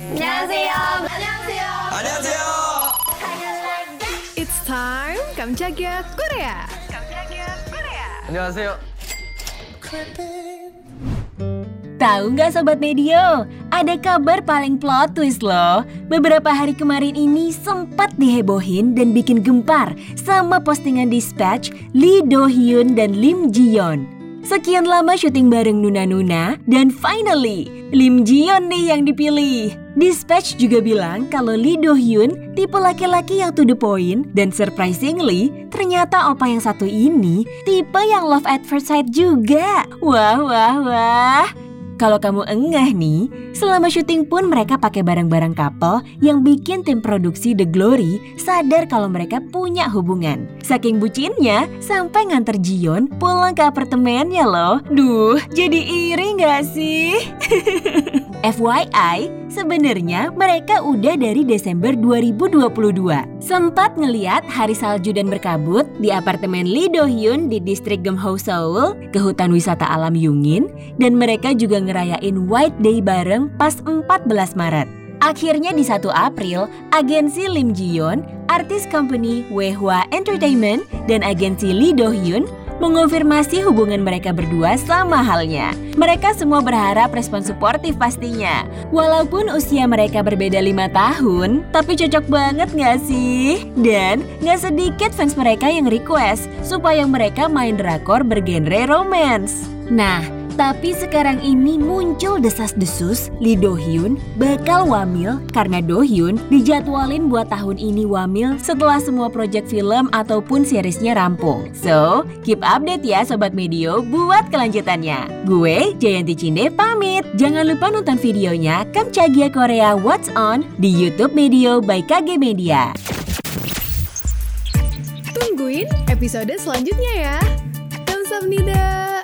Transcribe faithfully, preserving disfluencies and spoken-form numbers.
안녕하세요. 안녕하세요. 안녕하세요. It's time 깜짝이야 Korea. 깜짝이야 Korea. 안녕하세요. Tahu nggak Sobat Medio? Ada kabar paling plot twist loh. Beberapa hari kemarin ini sempat dihebohin dan bikin gempar sama postingan Dispatch Lee Do Hyun dan Lim Ji Yeon. Sekian lama syuting bareng Nuna-Nuna dan finally Lim Ji Yeon nih yang dipilih. Dispatch juga bilang kalau Lee Do Hyun tipe laki-laki yang to the point dan surprisingly ternyata opa yang satu ini tipe yang love at first sight juga. Wah wah wah. Kalau kamu engah nih, selama syuting pun mereka pakai barang-barang couple yang bikin tim produksi The Glory sadar kalau mereka punya hubungan. Saking bucinnya, sampai nganter Jiyeon pulang ke apartemennya loh. Duh, jadi iri gak sih? F Y I, sebenarnya mereka udah dari Desember dua ribu dua puluh dua. Sempat ngeliat hari salju dan berkabut di apartemen Lee Do Hyun di distrik Geumho, Seoul, ke hutan wisata alam Yungin, dan mereka juga ngerayain White Day bareng pas empat belas Maret. Akhirnya di satu April, agensi Lim Ji Yeon, artis company Wehwa Entertainment, dan agensi Lee Do Hyun mengonfirmasi hubungan mereka berdua sama halnya. Mereka semua berharap respon suportif pastinya. Walaupun usia mereka berbeda lima tahun, tapi cocok banget gak sih? Dan gak sedikit fans mereka yang request supaya mereka main drakor bergenre romance. Nah, tapi sekarang ini muncul desas-desus Lee Do Hyun bakal wamil karena Do Hyun dijadwalin buat tahun ini wamil setelah semua proyek film ataupun seriesnya rampung. So, keep update ya Sobat Medio buat kelanjutannya. Gue Jayanti Cinde pamit. Jangan lupa nonton videonya Kamchagia Korea What's On di YouTube Medio by K G Media. Tungguin episode selanjutnya ya. Kamsahamnida.